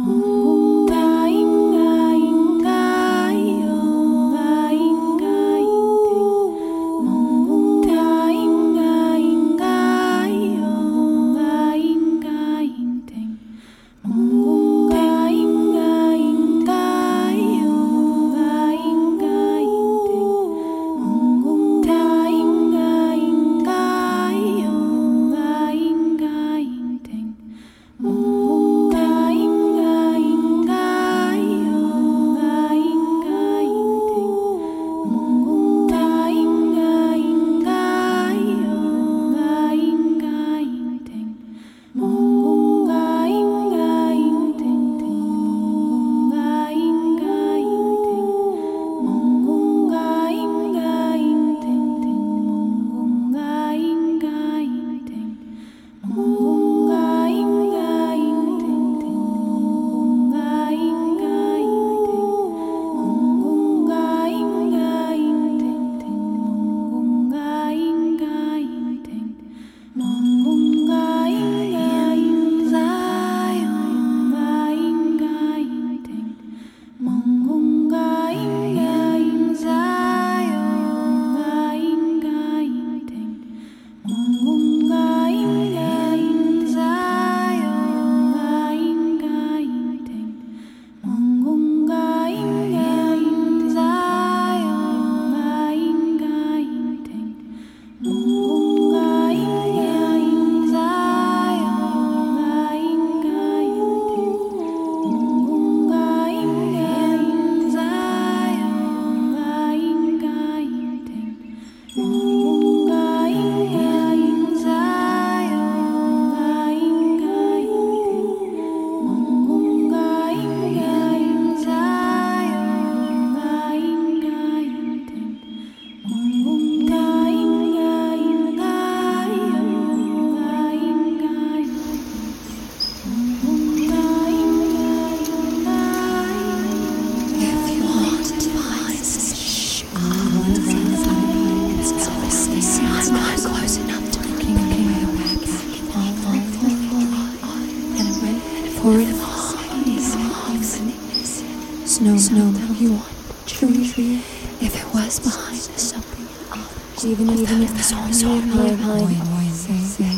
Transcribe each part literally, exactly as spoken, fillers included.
Snow, snow, you want tree, tree. If it was behind us, something others, even even if the song is so high, high, say, say,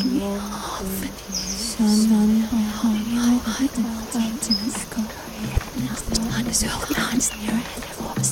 sun, sun, high, high, high, to an echo. Now the sun is all nights near it. There was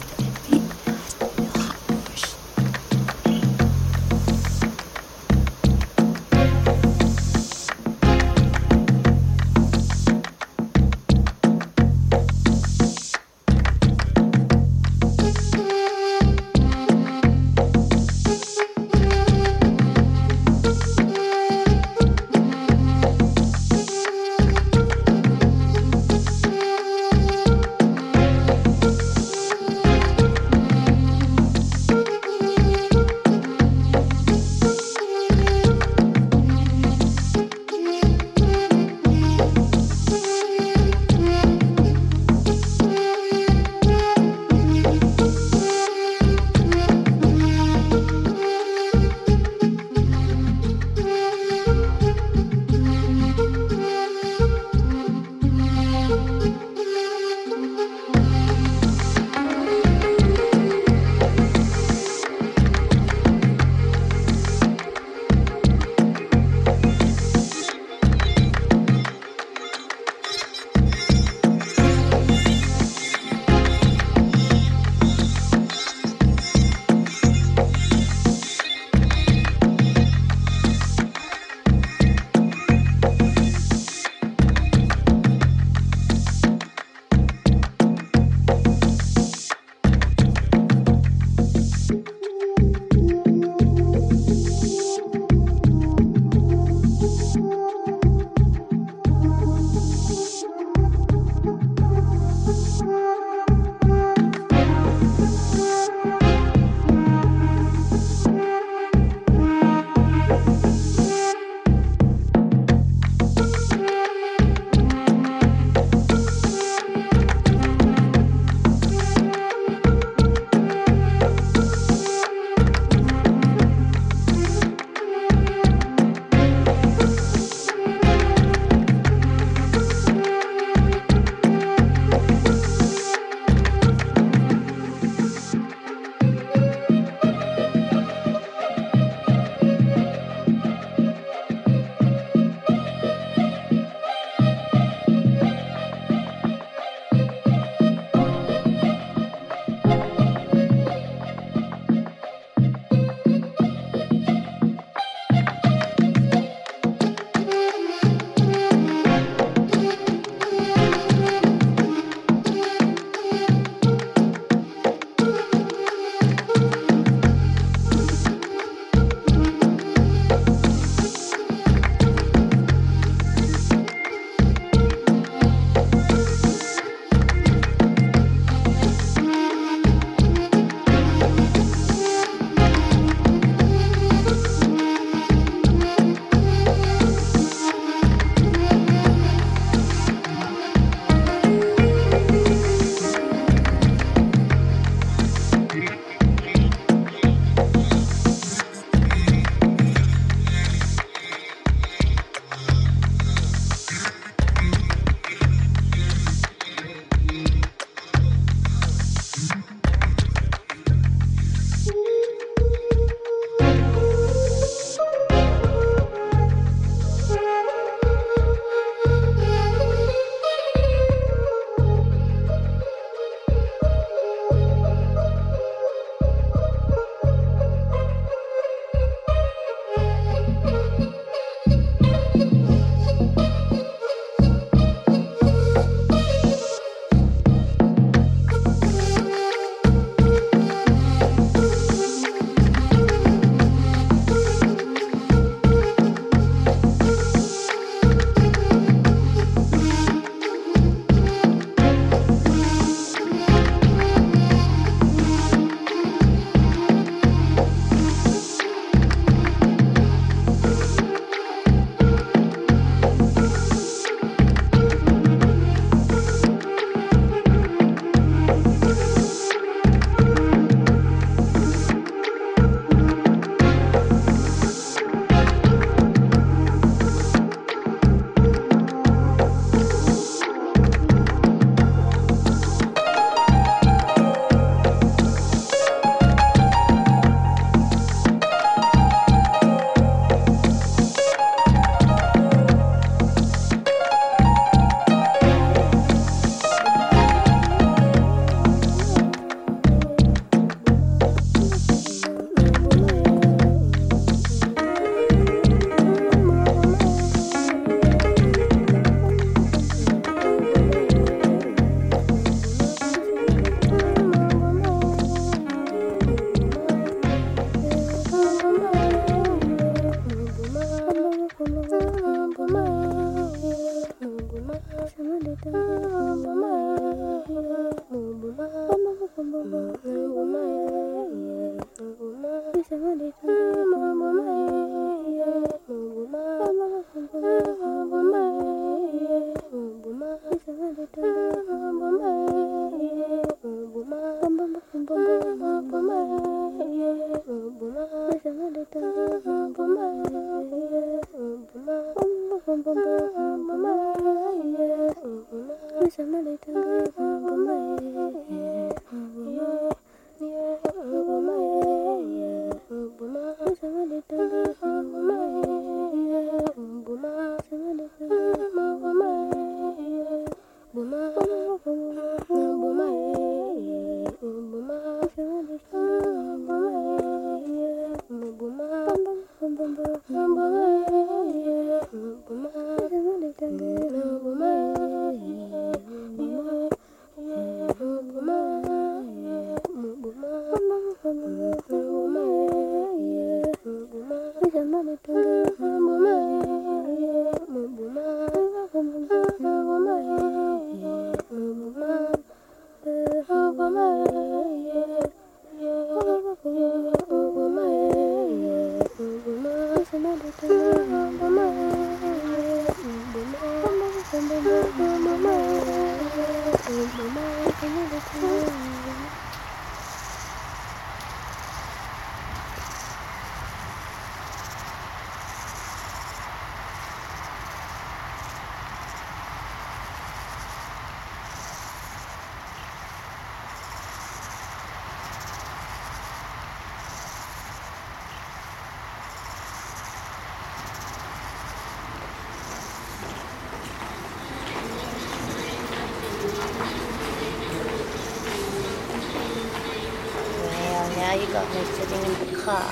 Now you got me sitting in the car,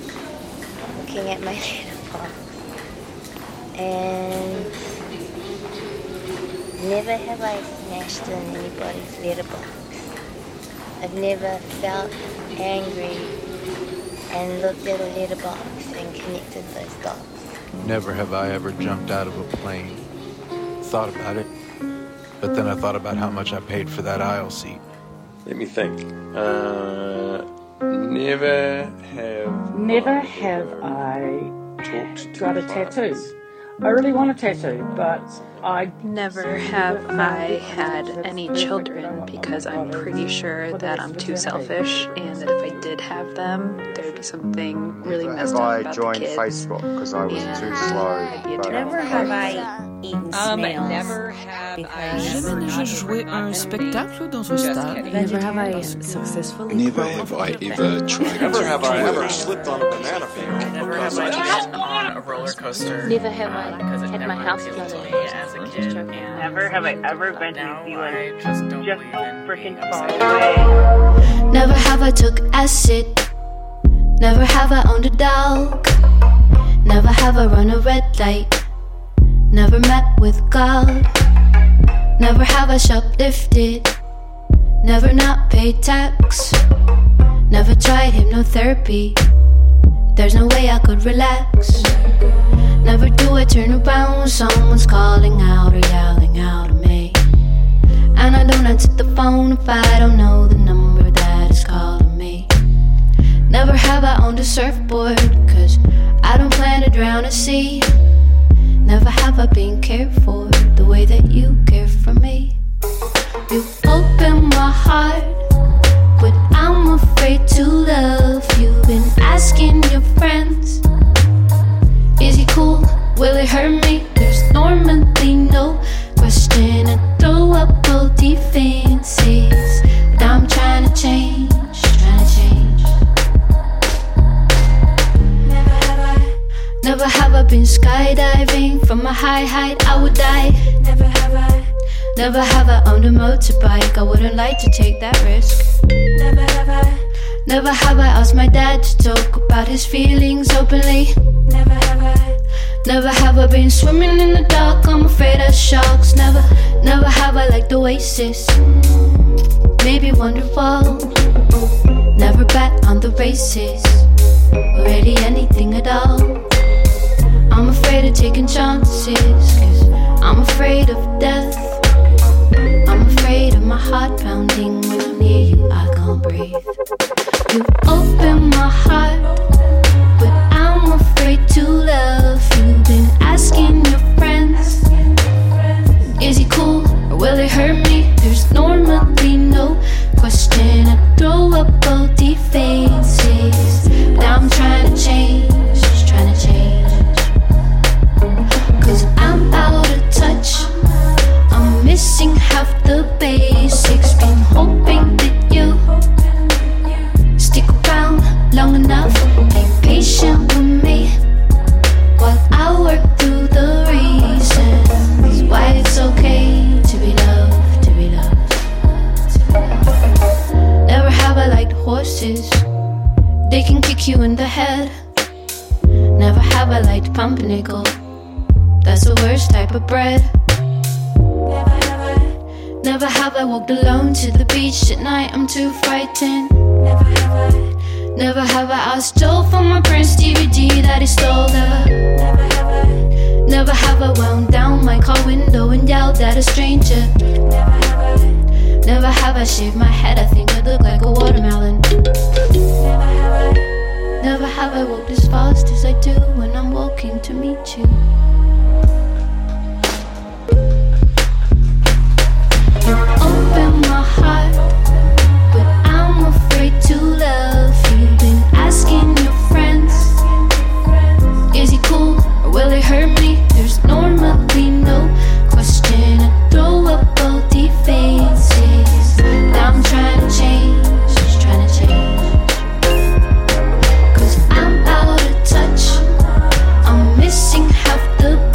looking at my letterbox, and never have I smashed in anybody's letterbox. I've never felt angry and looked at a letterbox and connected those dots. Never have I ever jumped out of a plane. Thought about it, but then I thought about how much I paid for that aisle seat. Let me think. Uh, never have. Never I have ever I talked to got a clients. tattoo. I really want a tattoo, but I Never have I had any children because I'm pretty sure that I'm too selfish and that if I did have them, there'd be something really messed Have up I about the joined kids. Facebook because I was Yeah. too slow? I'd be a but- terrible Never have I eaten Um, snails. never have I Because- ever Jamais n'ai-je joué un spectacle dans un Just stade. kidding. Never have I successfully Never grown have a I pet. ever tried Never to have I enjoy ever it. slipped on a banana peel. Never have because I I been on a roller coaster. Never have I because it had never my house appealed flooded. to me as a kid. And Never have I ever been to now New Zealand. I just don't Just believe so in freaking being far upset. away. Never have I took acid. Never have I owned a dog. Never have I run a red light. Never met with God. Never have I shoplifted. Never not paid tax. Never tried hypnotherapy. There's no way I could relax. Never do I turn around when someone's calling out or yelling out at me. And I don't answer the phone if I don't know the number that is calling me. Never have I owned a surfboard, cause I don't plan to drown at sea. Never have I been cared for the way that you care for me. You open my heart, but I'm afraid to love you. Been asking your friends, is he cool? Will it hurt me? There's normally no question. I throw up all defenses, but I'm trying to change, trying to change. Never have I, never have I been skydiving from a high height. I would die. Never have I, never have I owned a motorbike. I wouldn't like to take that risk. Never have I, never have I asked my dad to talk about his feelings openly. Never have I, never have I been swimming in the dark. I'm afraid of sharks. Never, never have I liked Oasis. Maybe Wonderwall. Never bet on the races or really anything at all. I'm afraid of taking chances, cause I'm afraid of death. heart pounding. When I'm near you, I can't breathe. You open my heart, but I'm afraid to love you. Been asking your friends, is he cool or will it hurt me? There's normally no question. I throw up both faces, but I'm trying to change, just trying to change. Cause I'm out of touch, I'm missing half the basics. Been hoping that you stick around long enough, be patient with me while I work through the reasons why it's okay to be loved, to be loved. Never have I liked horses, they can kick you in the head. Never have I liked pumpernickel, that's the worst type of bread. Never have I, never have I walked alone to the beach at night, I'm too frightened. Never have I, never have I asked Joe for my Prince D V D that he stole. Never, never have I, never have I wound down my car window and yelled at a stranger. Never have I, never have I shaved my head, I think I look like a watermelon. Never have I, never have I walked as fast as I do when I'm walking to meet you. You open my heart, but I'm afraid to love you. Been asking your friends, is he cool or will it hurt me? There's normally no question. I throw up both faces, but I'm trying to change, just trying to change. Cause I'm out of touch, I'm missing half the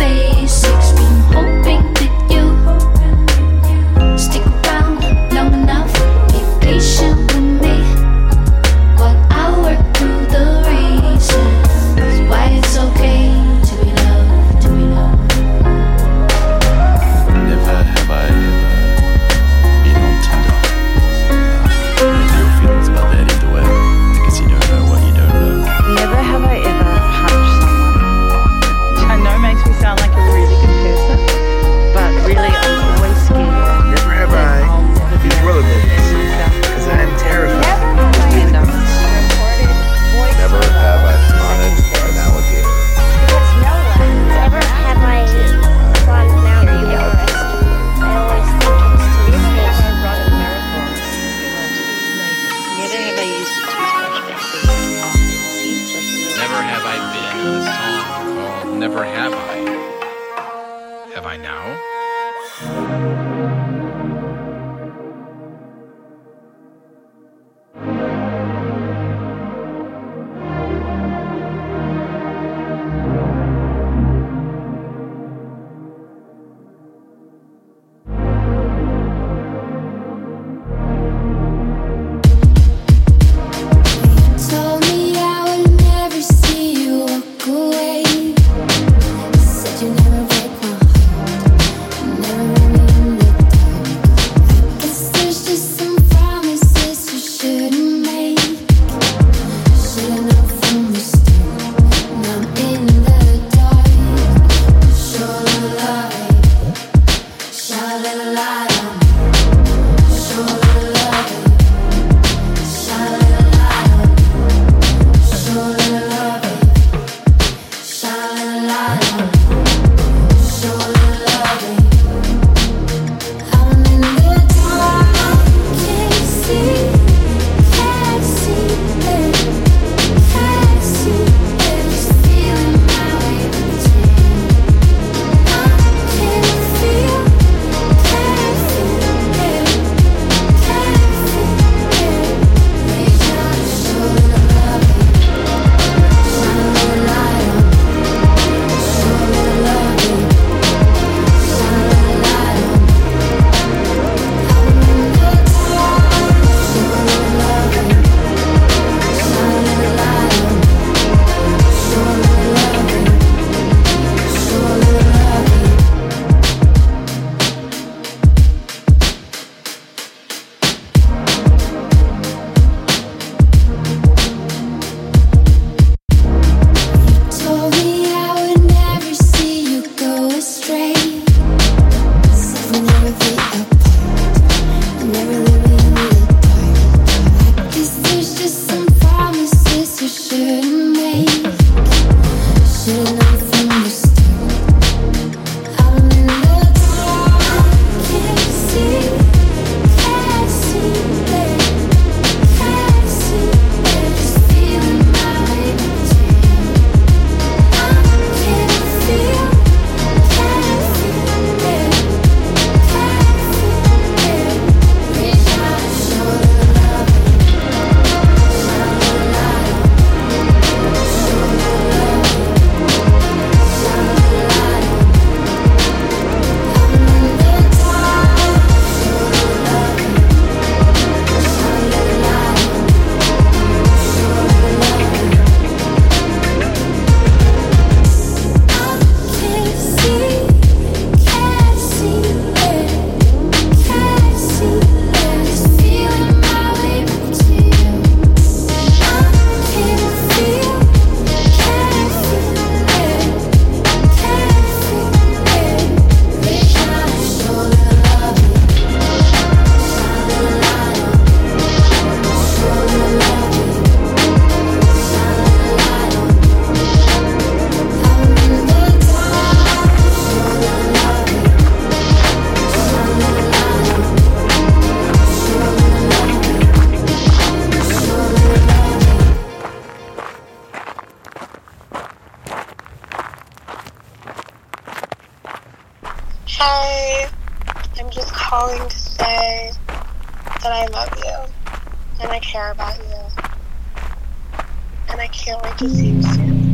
say that I love you and I care about you. And I can't wait to see you soon.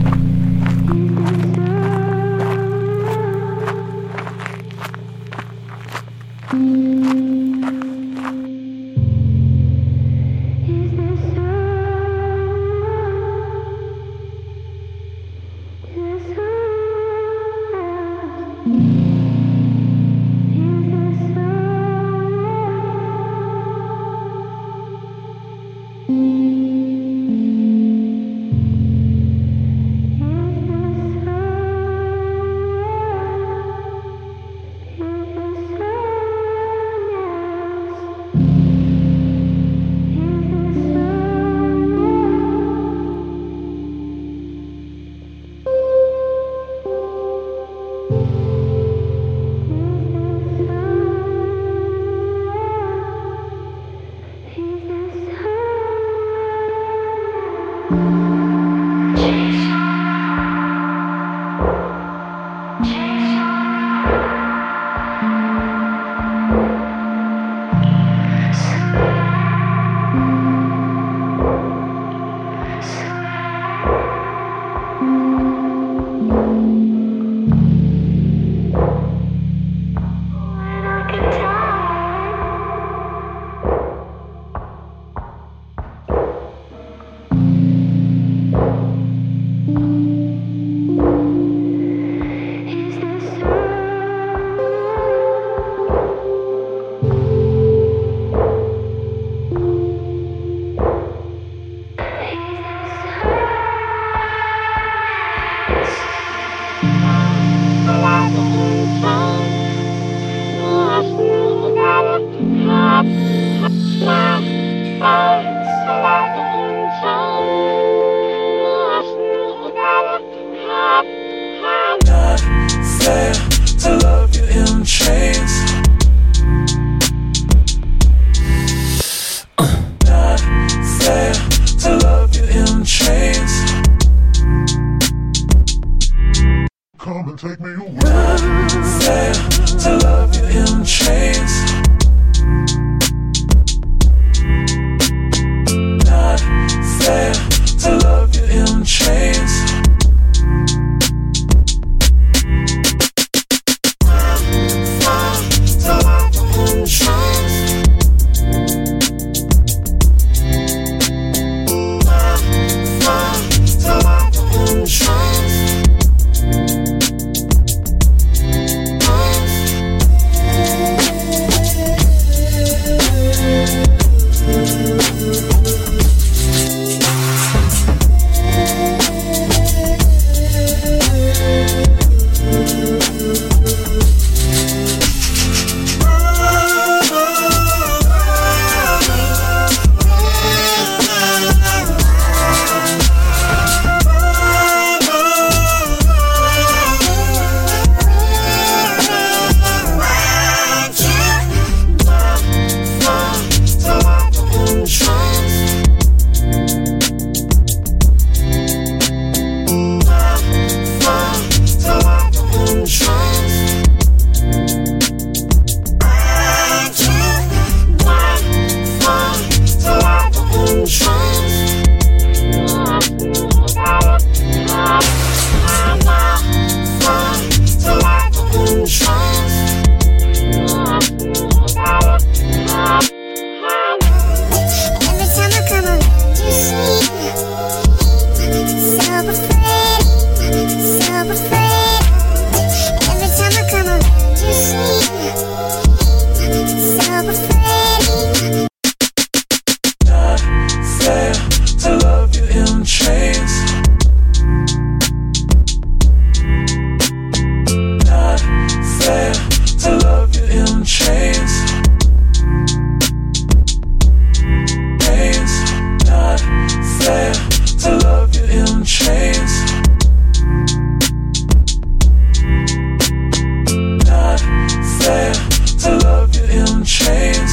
chains.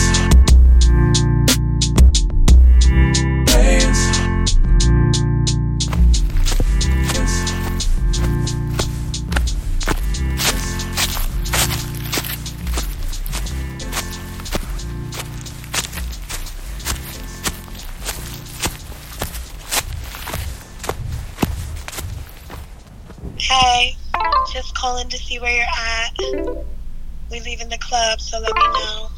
calling to see where you're at. We leaving the club, so let me know.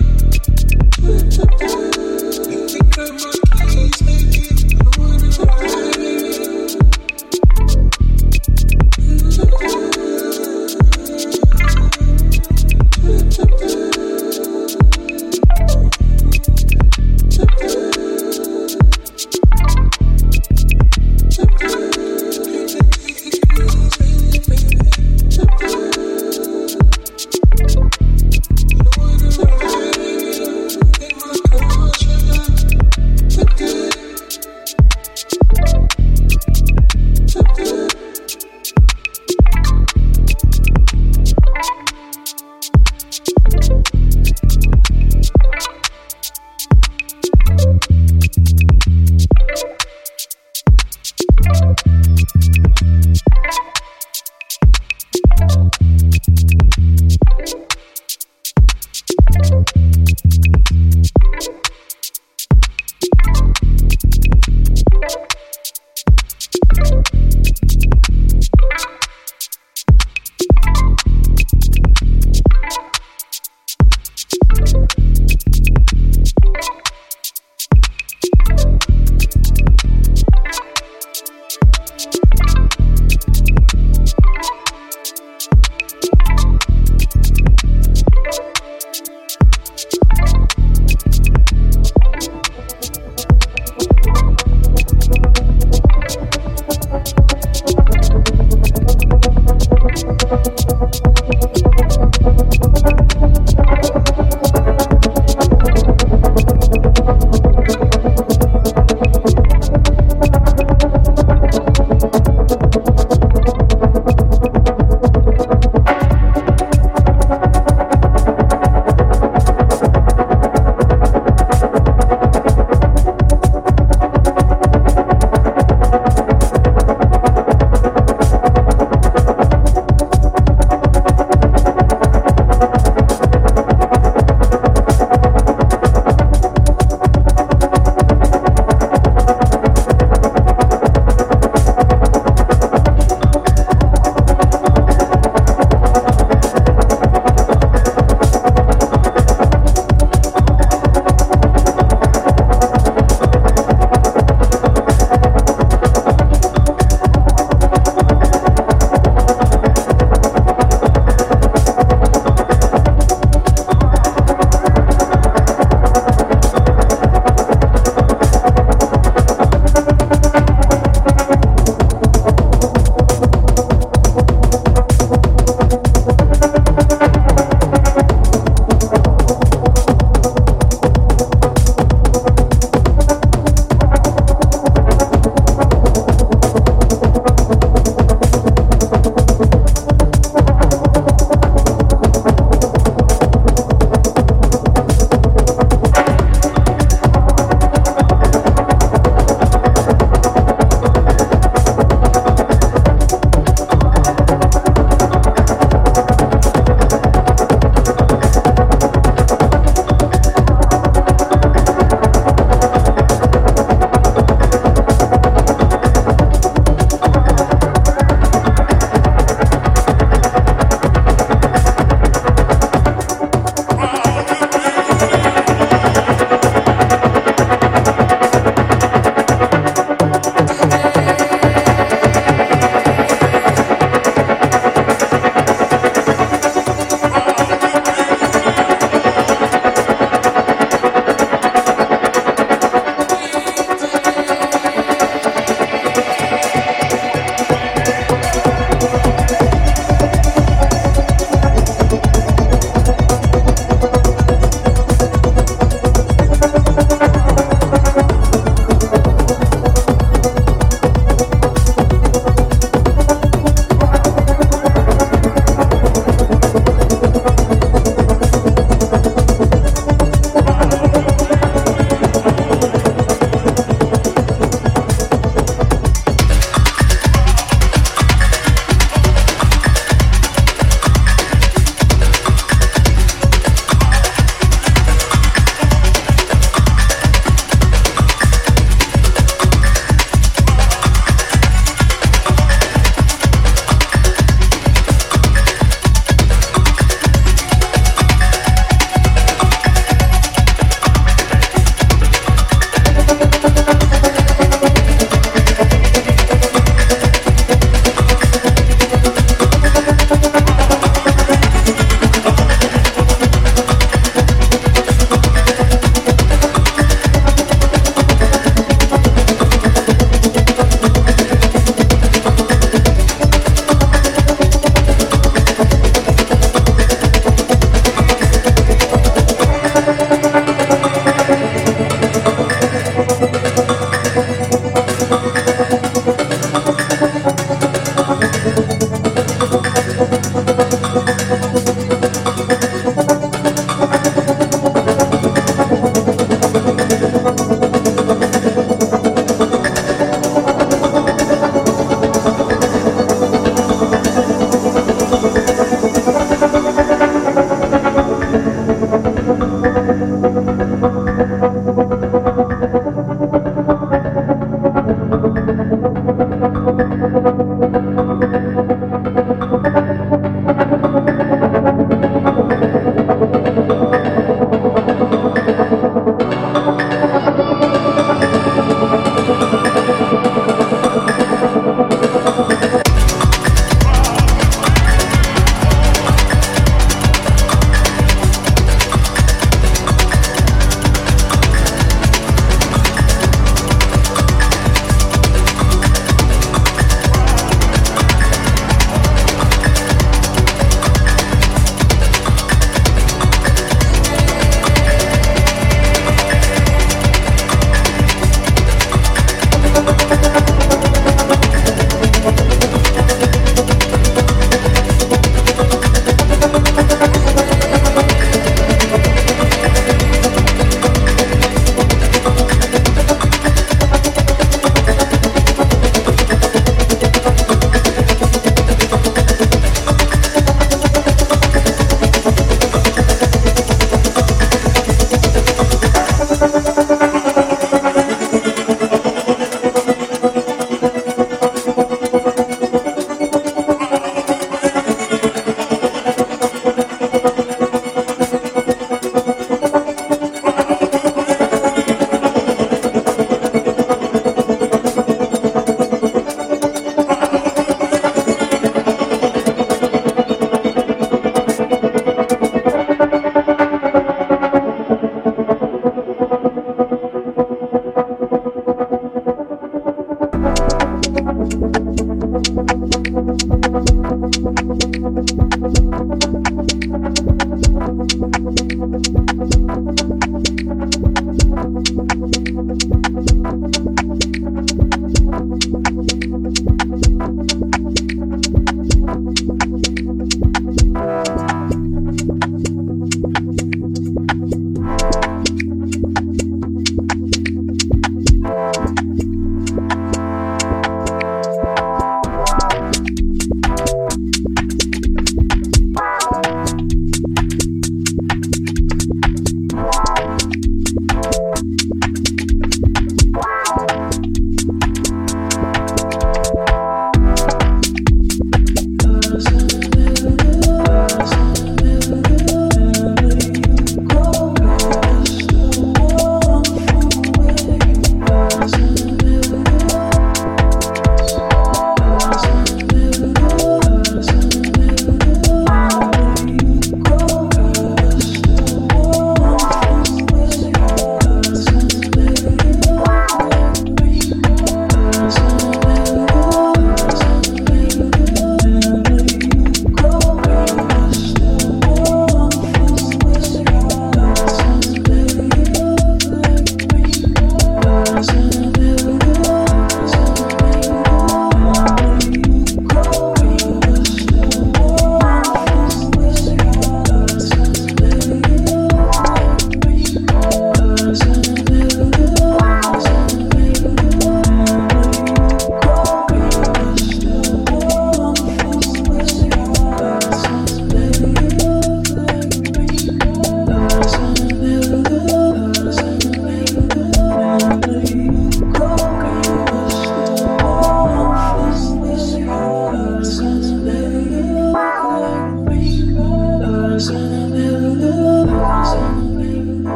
Thank you.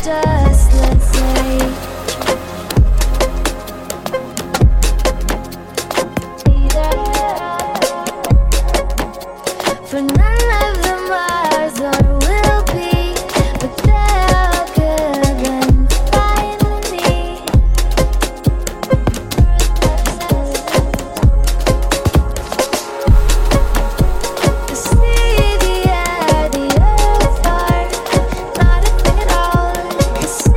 just let's say. For none of them was or will be, but they're all good and fine with me. To see the air, the earth part, not a thing at all. To see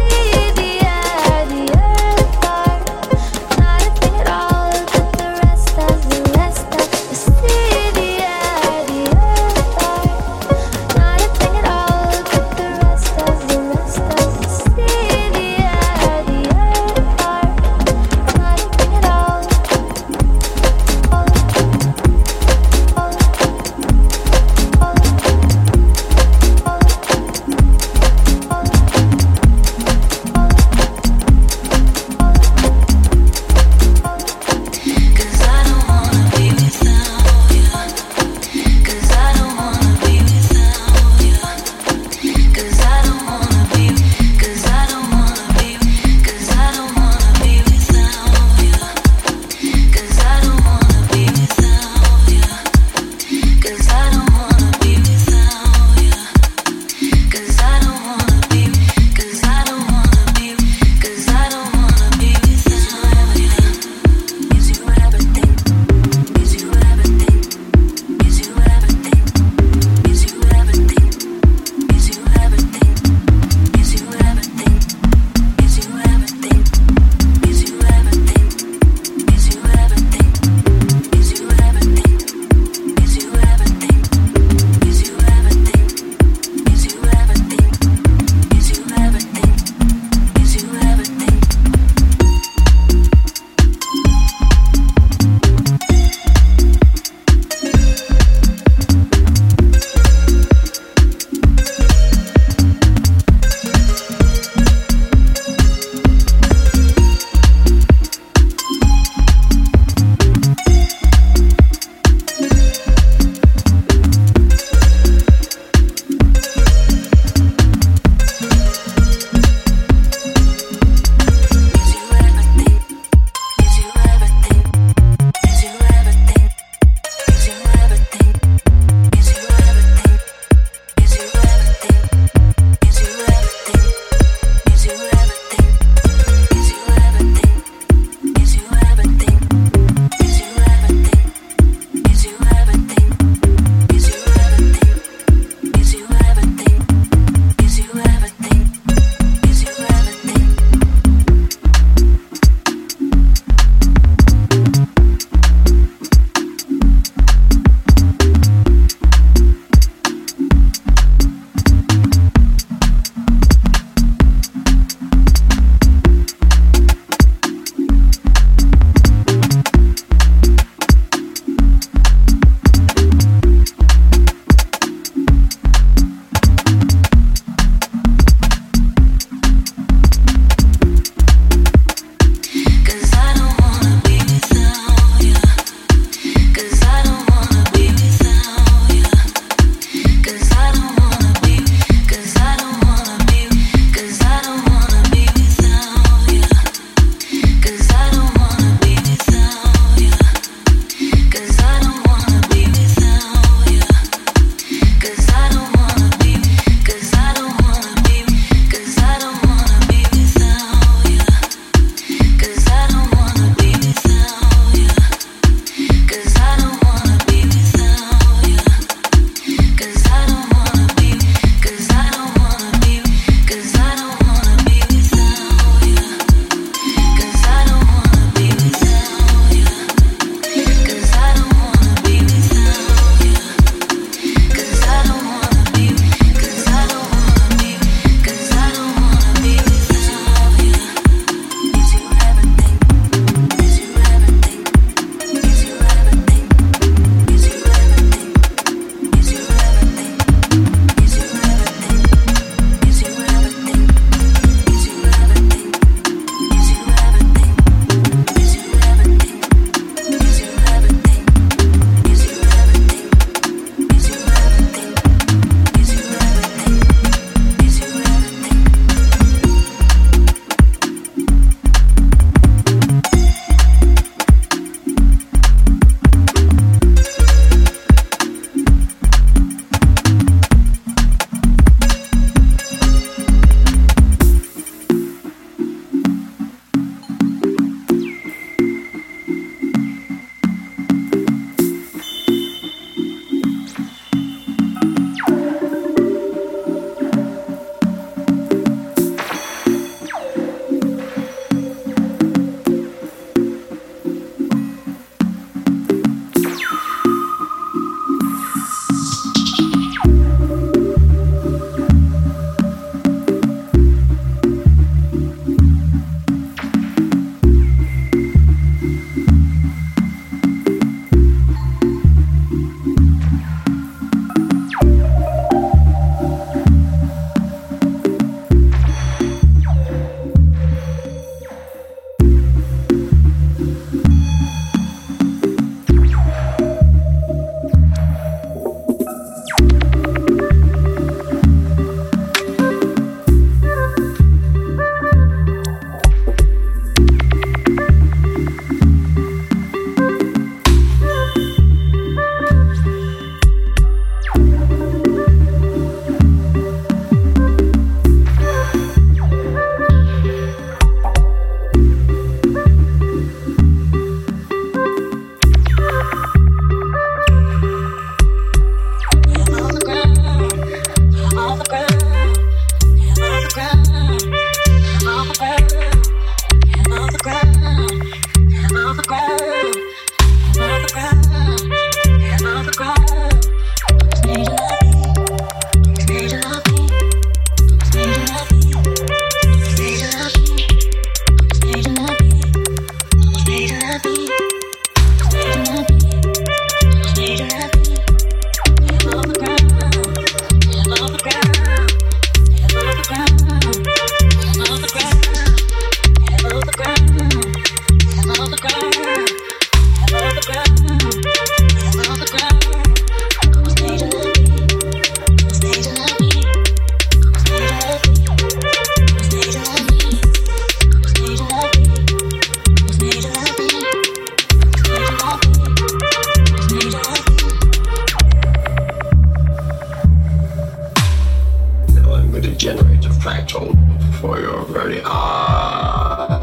very high.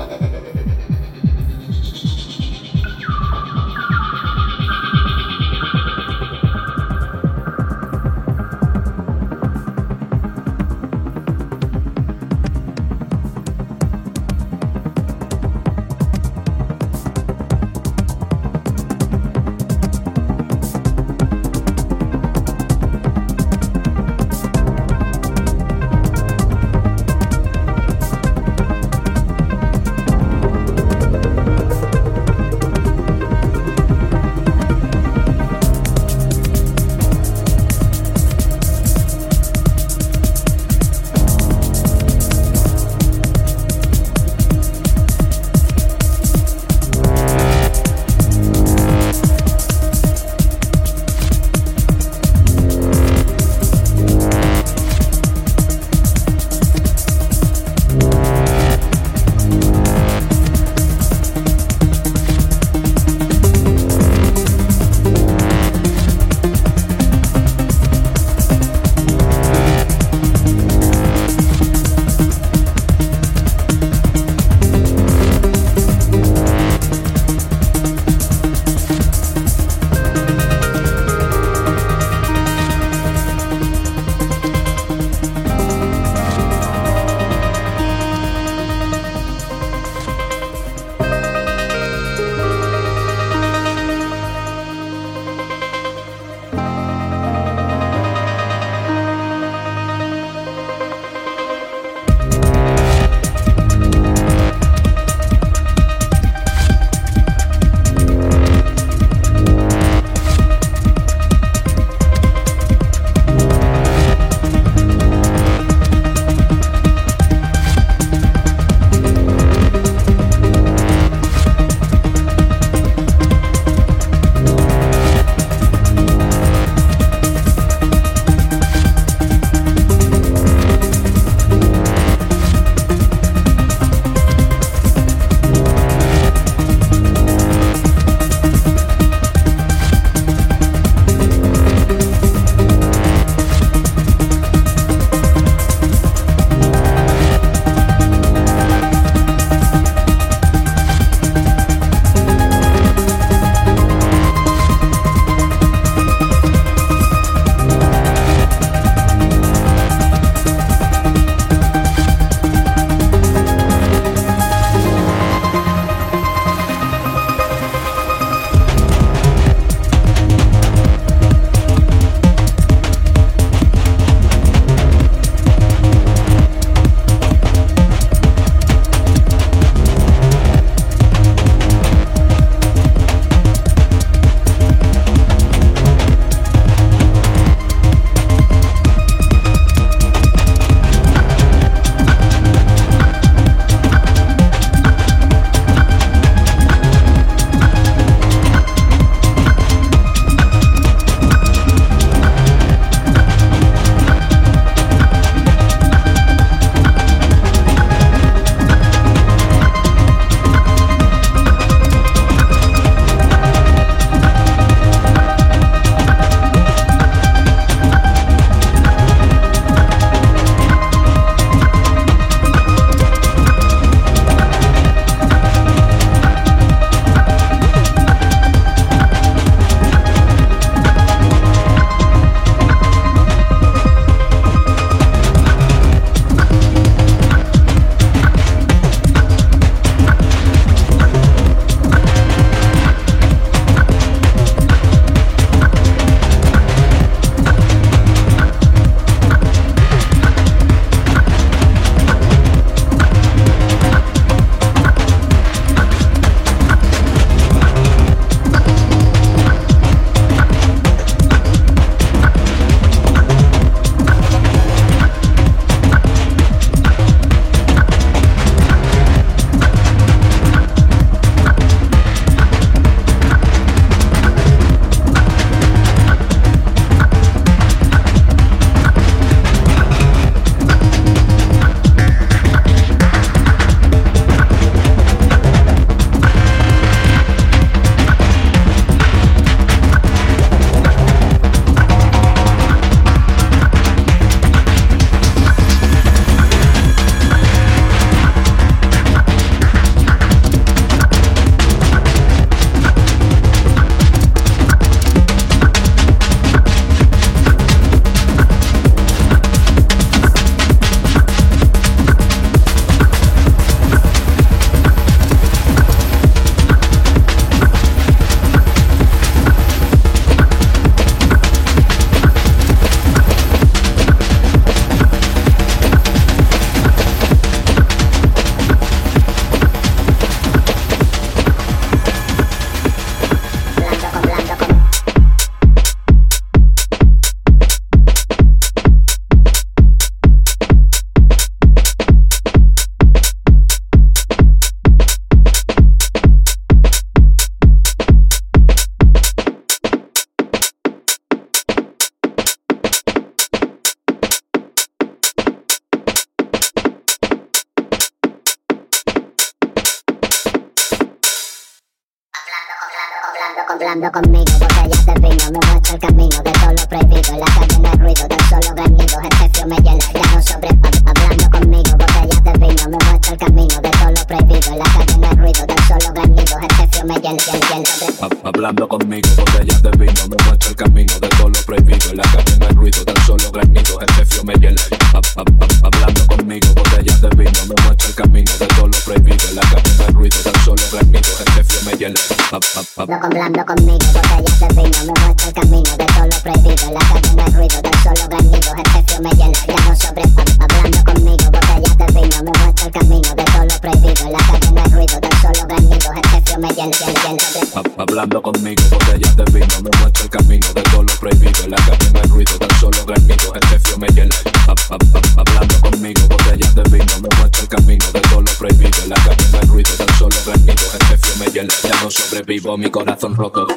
Hablando conmigo, botellas de vino, me muestra el camino de todo lo prohibido. En la calle no hay ruido, tan solo granidos. Este frío me llena, ya no sobrepaso. Hablando conmigo, botellas de vino, me muestra el camino de todo lo prohibido. En la calle no hay ruido, tan solo granidos. Este frío me llena, llena, llena. Hablando conmigo, botellas de vino, me muestra el camino de todo lo prohibido. En la calle no hay ruido, tan solo granidos. Este frío me llena. Hablando conmigo, botellas de vino, me muestra el camino de todo lo prohibido. En la calle no hay ruido, tan solo granidos. Este frío me llena. Hablando conmigo, botellas de vino, me muestra el camino de todo lo prohibido. En la calle no hay ruido, tan solo granidos. Este frío me llena, ya no sobrepaso. Hablando conmigo, botellas de vino, me muestra el camino de todo lo prohibido. En la calle no hay ruido, tan solo granidos. Este frío me llena, llena, llena. Hablando conmigo, botellas de vino, me muestra el camino de todo lo prohibido. En la calle no hay ruido, tan solo granidos. Este frío me llena. Hablando conmigo, botellas de vino, me muestra el camino de todo lo prohibido. En la calle no hay ruido, tan solo granidos. Este frío me llena, ya no sobrevivo, mi corazón roto.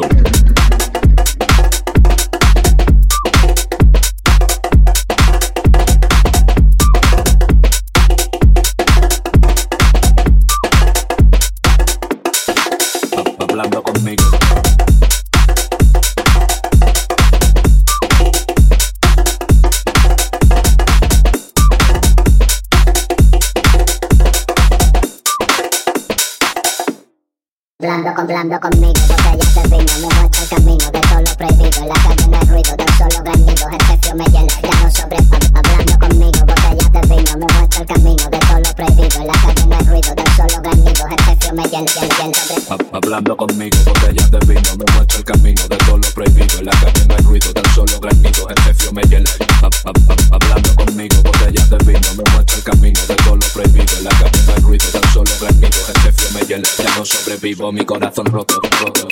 Hablando conmigo. Hablando, con, hablando conmigo, botellas de vino, me muestra el camino de todo lo prohibido. En la calle no hay ruido, tan solo granidos. Este frío me llena, ya no sobrepaso. Hablando conmigo, botellas de vino, me muestra el camino de todo lo prohibido. En la calle no hay ruido, tan solo granidos. Este frío me llena, llena, llena. Hablando conmigo, botellas de vino, me muestra el camino de todo lo prohibido. En la calle no hay ruido, tan solo granidos. Este frío me llena. Hablando conmigo, botellas de vino, me muestra el camino de todo lo prohibido. En la calle no hay ruido, tan solo granidos. Este frío me llena, ya no sobrevivo, mi corazón roto, roto.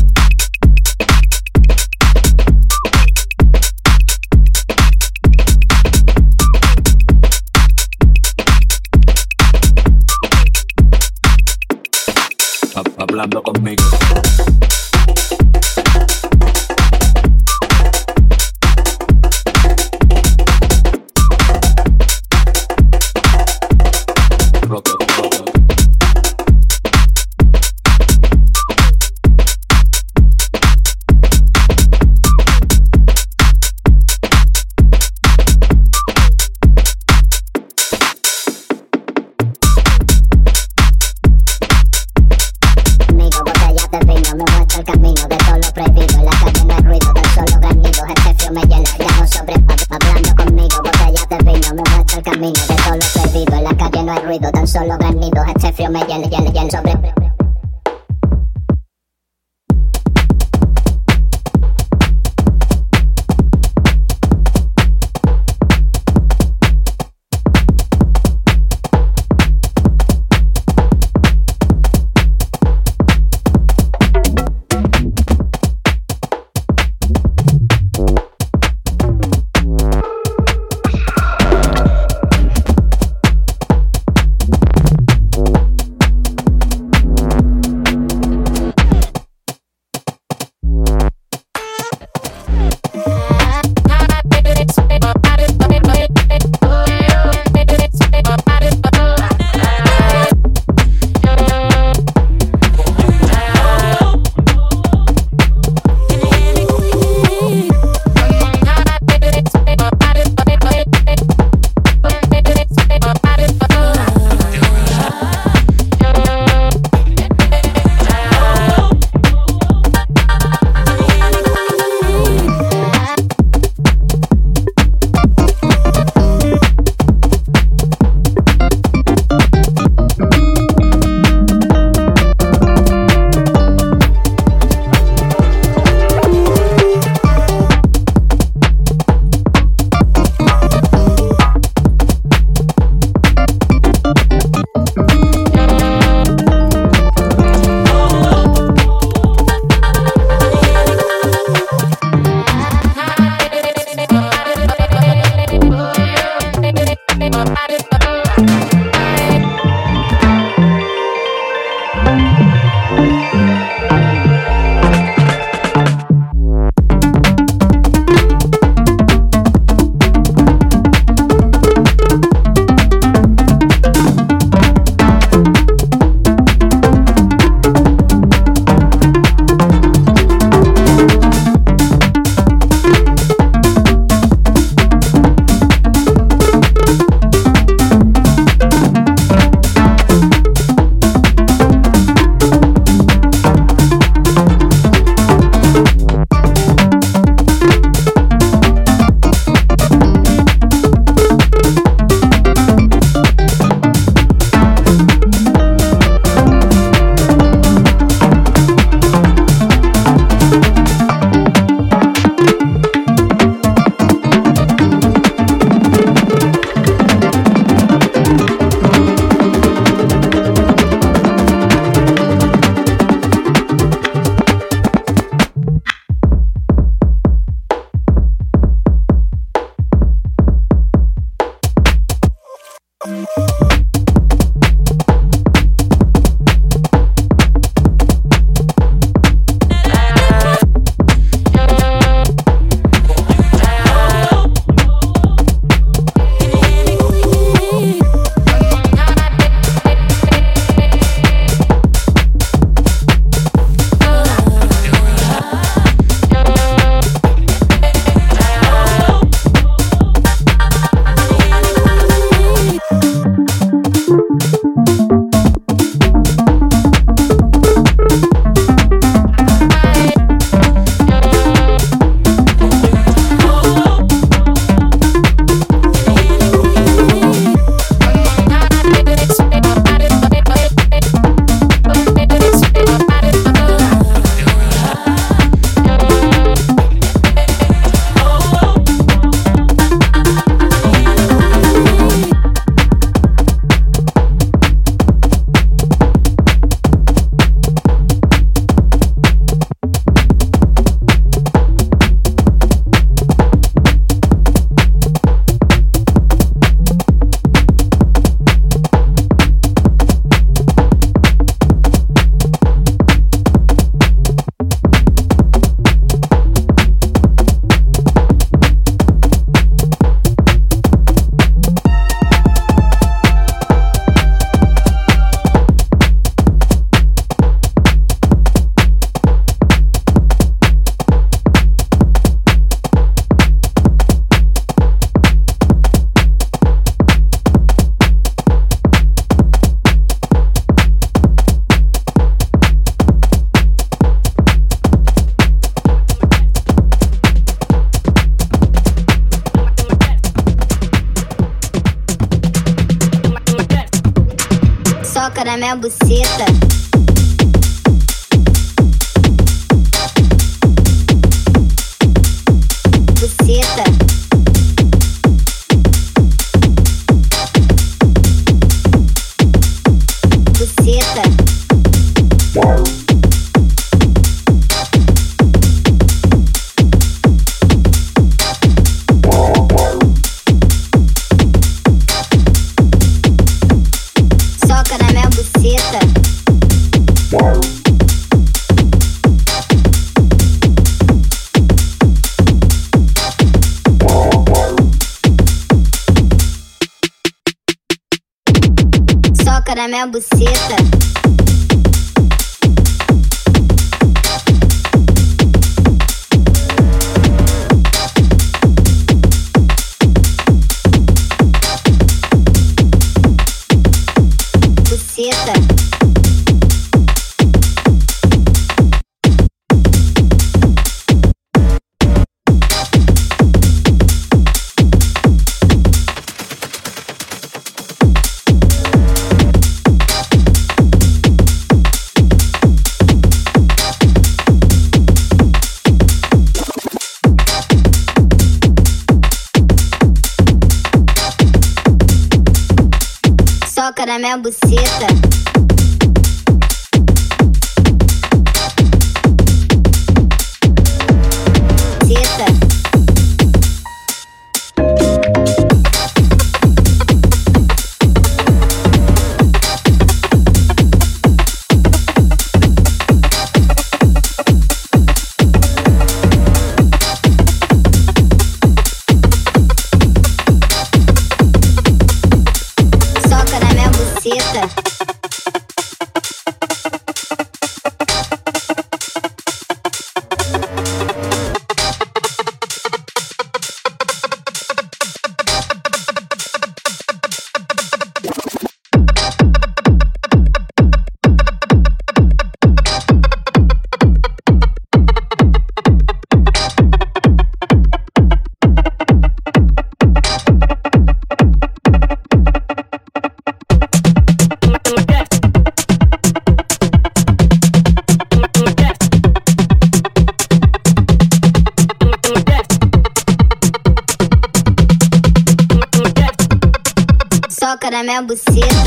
Hablando conmigo. Roto, roto. Me muestra el camino de todo lo prohibido. En la calle no hay ruido, tan solo granidos. Este frío me llena, ya no sobrepaso. Hablando conmigo, botellas de vino, me muestra el camino de todo lo prohibido. En la calle no hay ruido, tan solo granidos. Este frío me llena, llena, llena, sobre. Soca na minha buceta. Buceta. Buceta. Soca na minha buceta. Soca na minha buceta. Buceta. Soca na minha buceta. Buceta. Soca na minha buceta. Soca na minha buceta.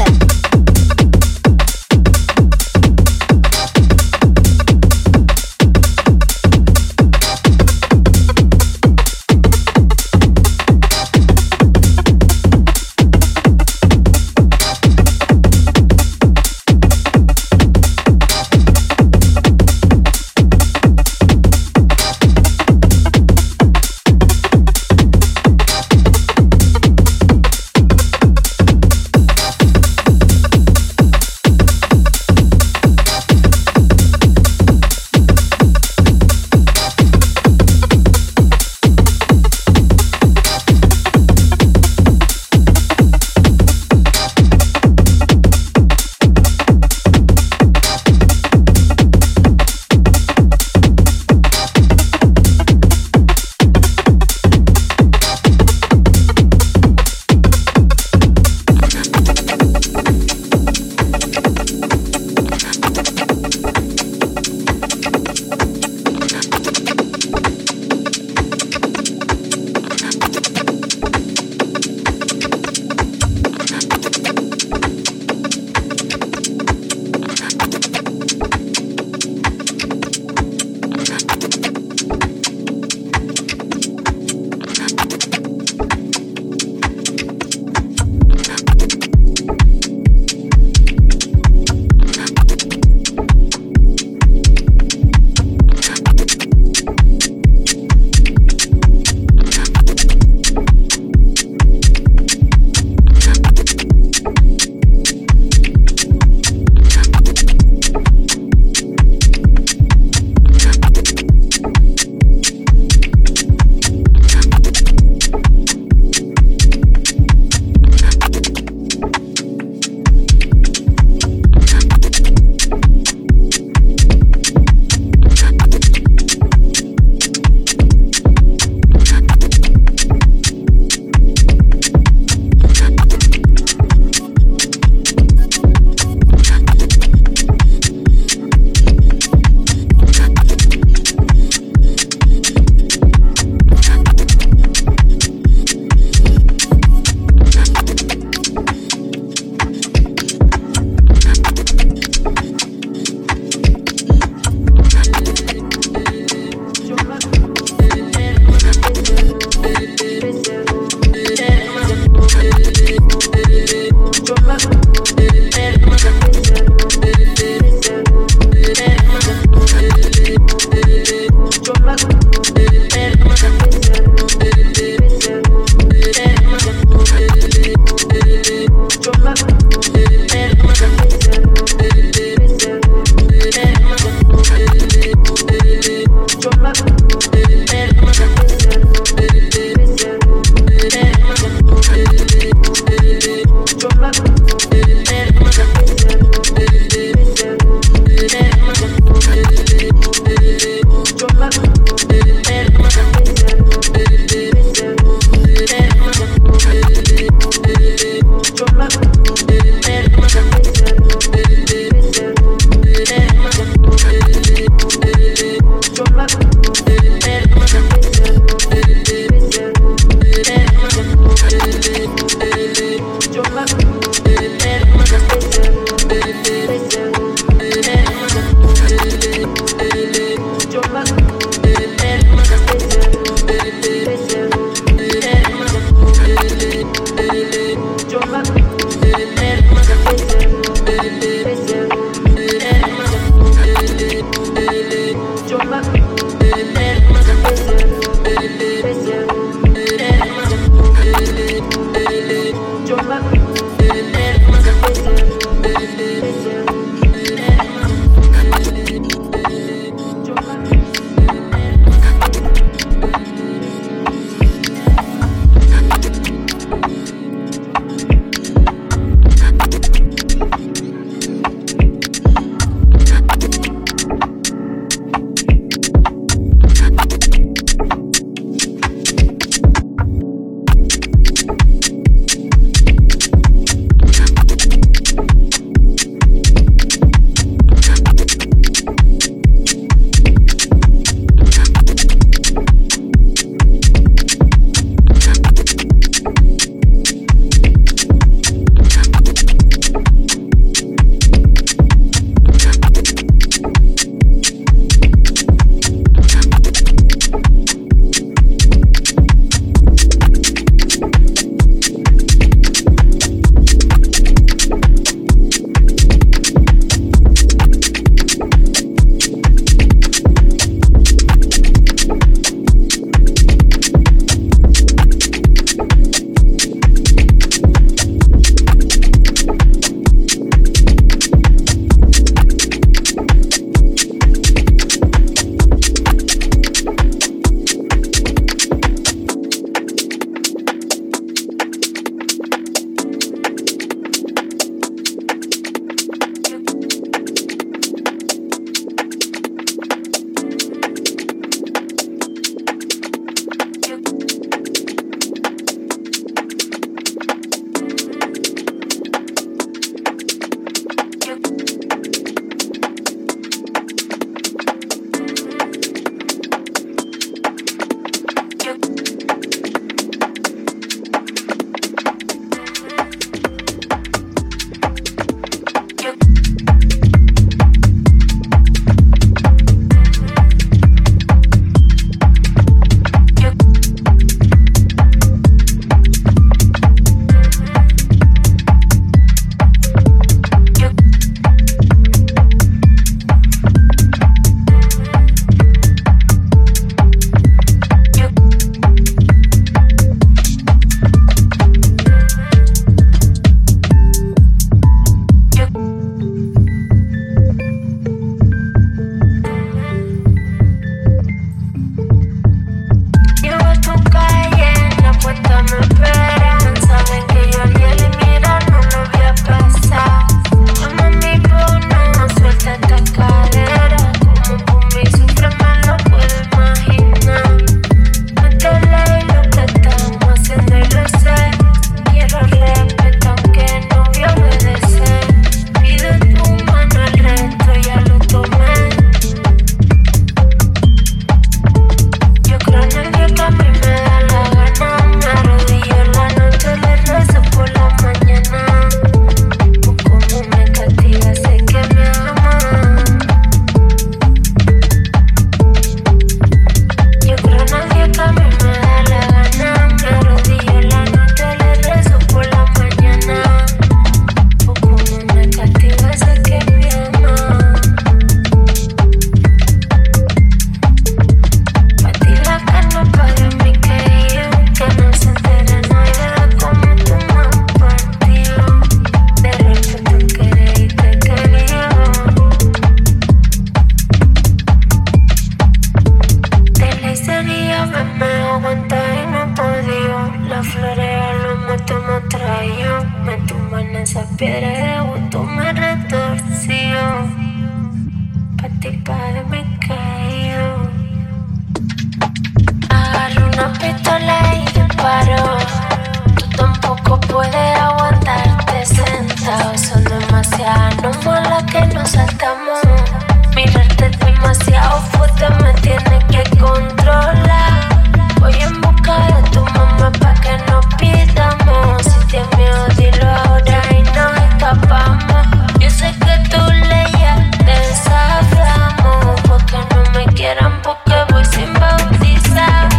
sea, no mola que nos saltamos. Mirarte es demasiado fuerte, me tiene que controlar. Voy en busca de tu mamá pa' que nos pidamos. Si tienes miedo, dilo ahora y nos escapamos. Yo sé que tú leyes desafiamos, porque no me quieran porque voy sin bautizar.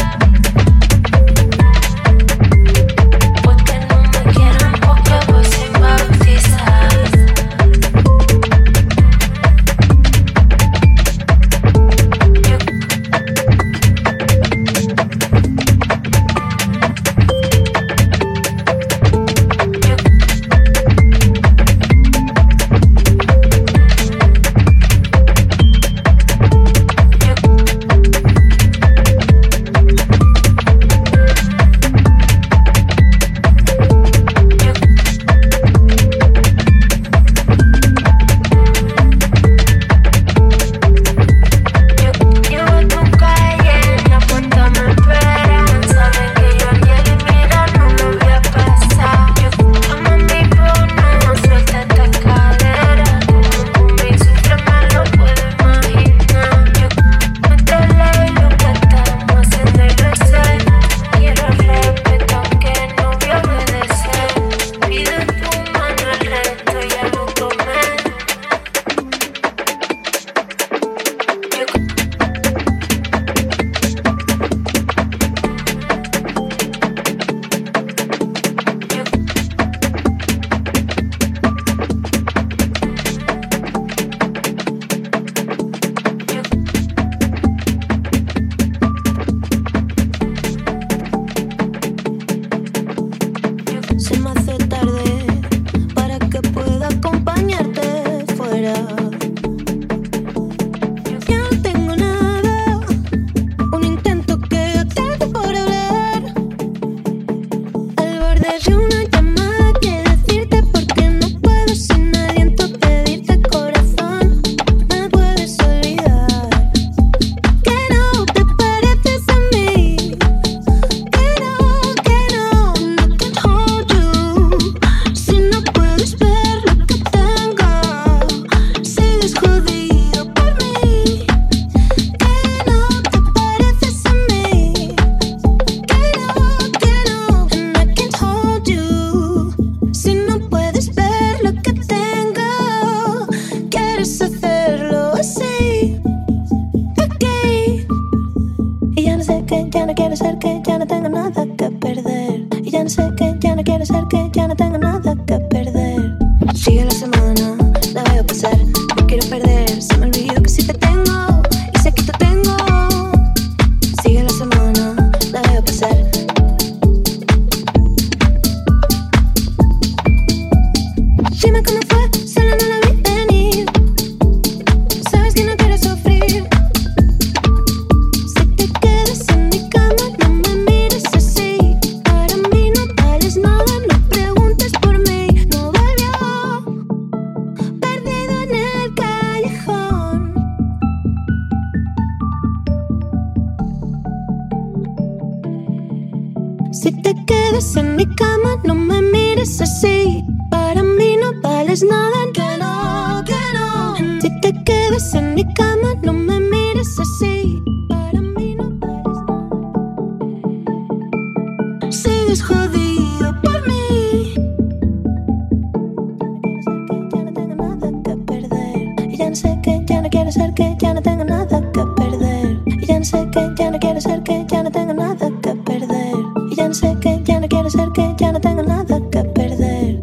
Porque no me quieran porque voy sin bautizar. Si te quedas en mi cama, no me mires así. Para mí no vales nada, que no, que no. Si te quedas en mi cama, no me mires así. Para mí no vales nada. Sigues jodido por mí. Ya no tengo nada que perder. Y ya no sé que ya no quiero ser que ya no tengo nada que perder. Y ya no sé que ya no quiero ser que ya no tengo nada que perder. Y ya no sé que ya no quiero ser que ya no tengo nada que perder.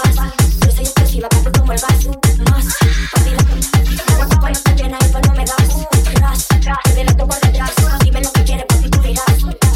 vas. Yo soy explosiva, paso como el gas. Más, papi, la guapa cuando está llena y no me das. Ras, te delato por detrás. Dime lo que quieres, papi, tú dirás.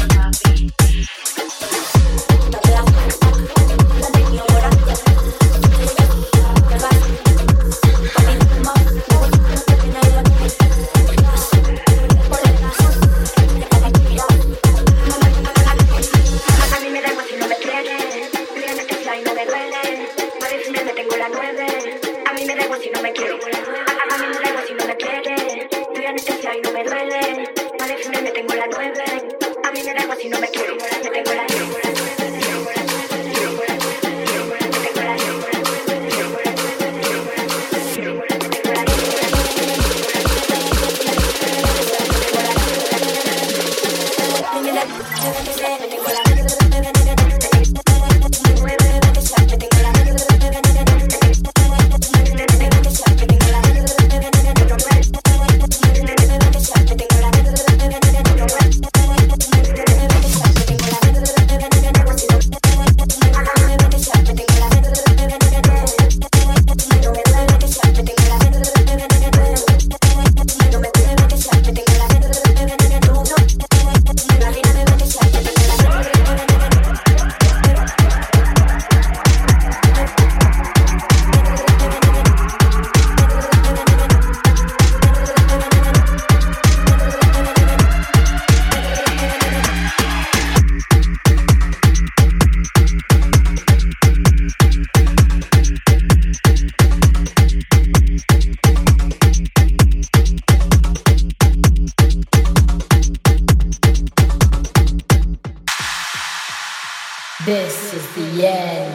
This is the end.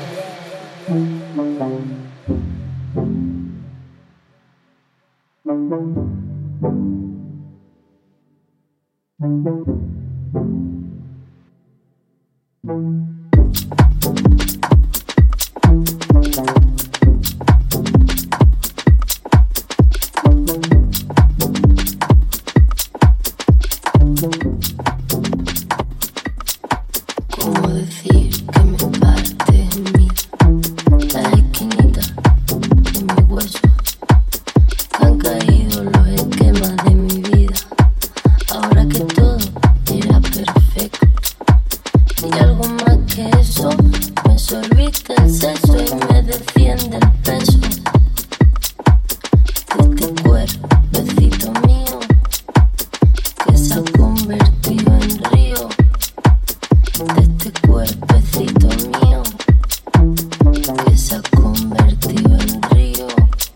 ¿Cómo decir que me parte en mí la esquinita de mi hueso? Han caído los esquemas de mi vida, ahora que todo era perfecto. Y algo más que eso, me sorbita el sexo y me desciende el peso de este cuerpecito mío que se ha convertido en río. De este cuerpecito mío que se ha convertido en río.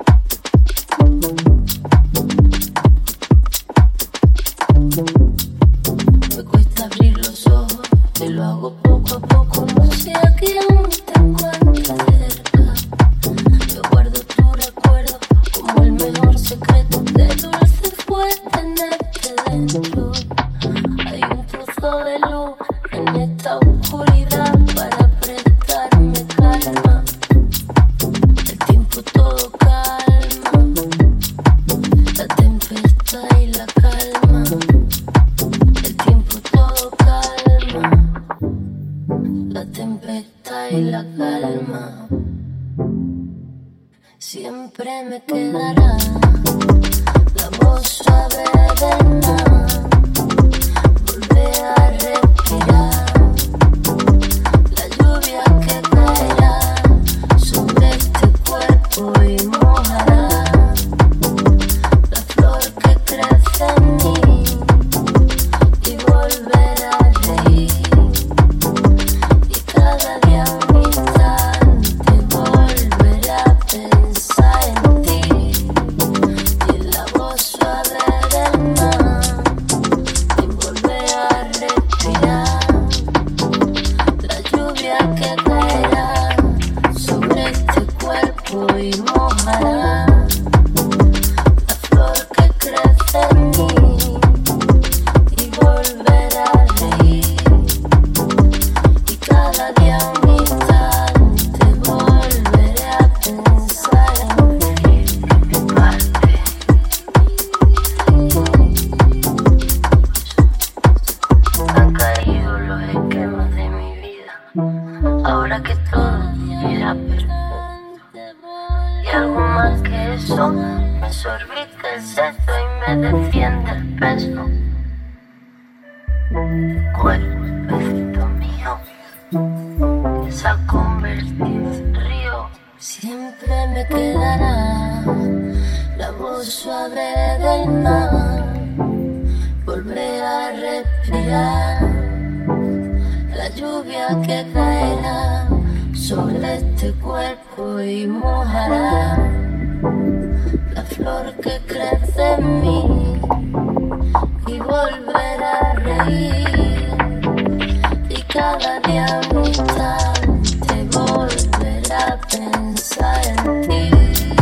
Me cuesta abrir los ojos y lo hago poco a poco. No sé a qué aún te encuentras cerca. Yo guardo tu recuerdo como el mejor secreto. Qué dulce fue tenerte dentro. Hay un trozo de luz en esta oscuridad para prestarme calma. El tiempo todo calma, la tempestad y la calma. El tiempo todo calma, la tempestad y la calma. Siempre me quedará la voz suave del mar. Volver a respirar la lluvia que caerá sobre este cuerpo y mojará la flor que crece en mí y volver a reír. Y cada día un instante volver a pensar en ti. Y la voz suave del mar y volver a respirar la lluvia que caerá sobre este cuerpo y mojará la flor que crece en mí y volver a reír. Y cada día un instante volveré a pensar en ti. Mi parte. Han caído los esquemas de mi vida, ahora que todo era perfecto. algo más que eso. Me sorbita el sexo y me defiende el peso. Cuerpo, besito mío, que se ha convertido en río. Siempre me quedará la voz suave del mar. Volveré a respirar la lluvia que caerá sobre este cuerpo y mojará la flor que crece en mí y volverá a reír. Y cada día mi instante volverá a pensar en ti.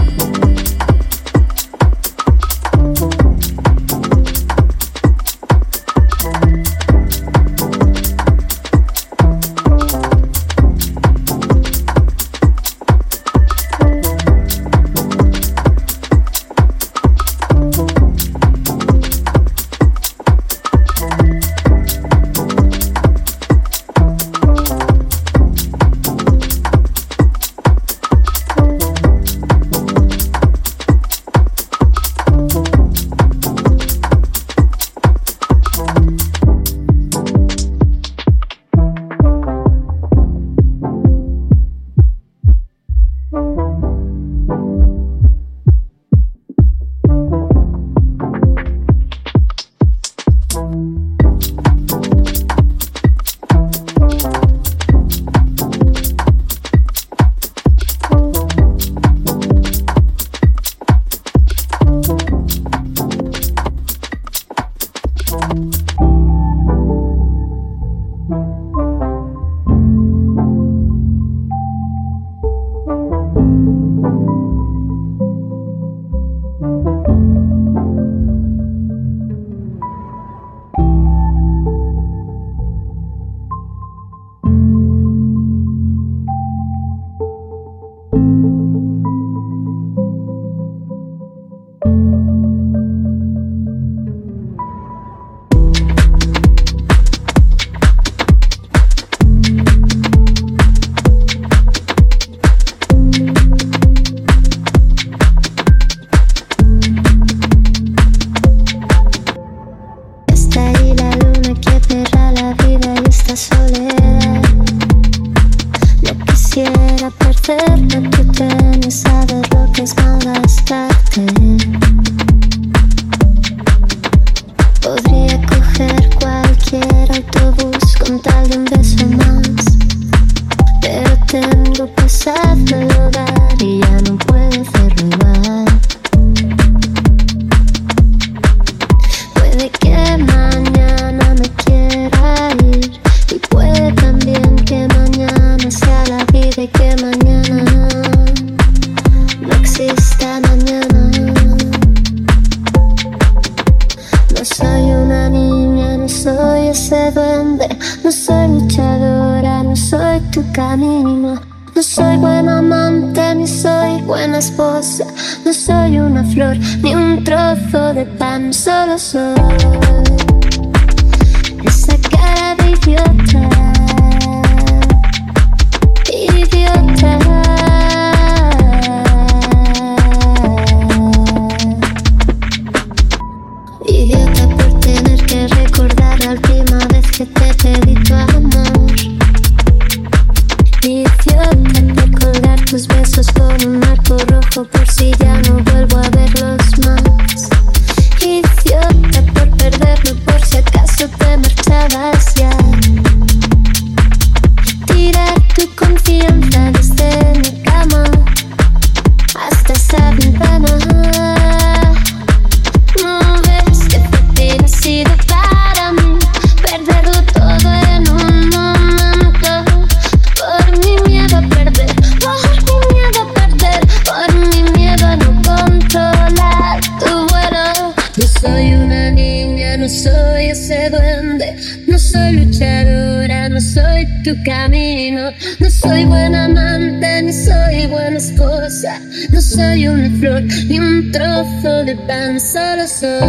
No soy una flor ni un trozo de pan, solo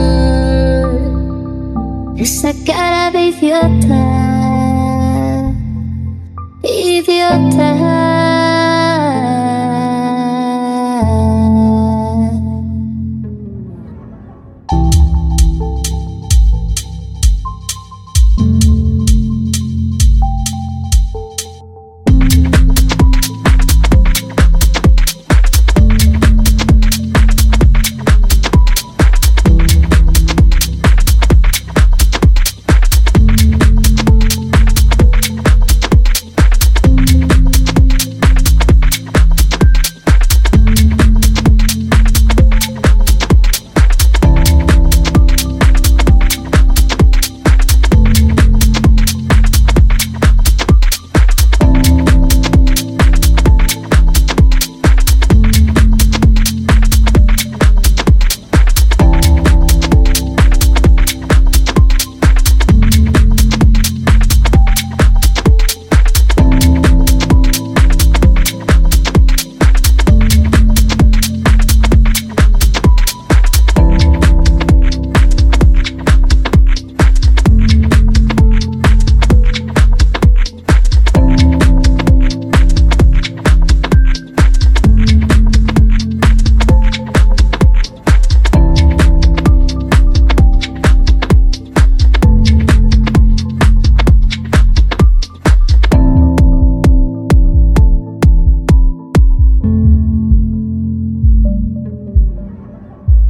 soy esa cara de idiota, idiota.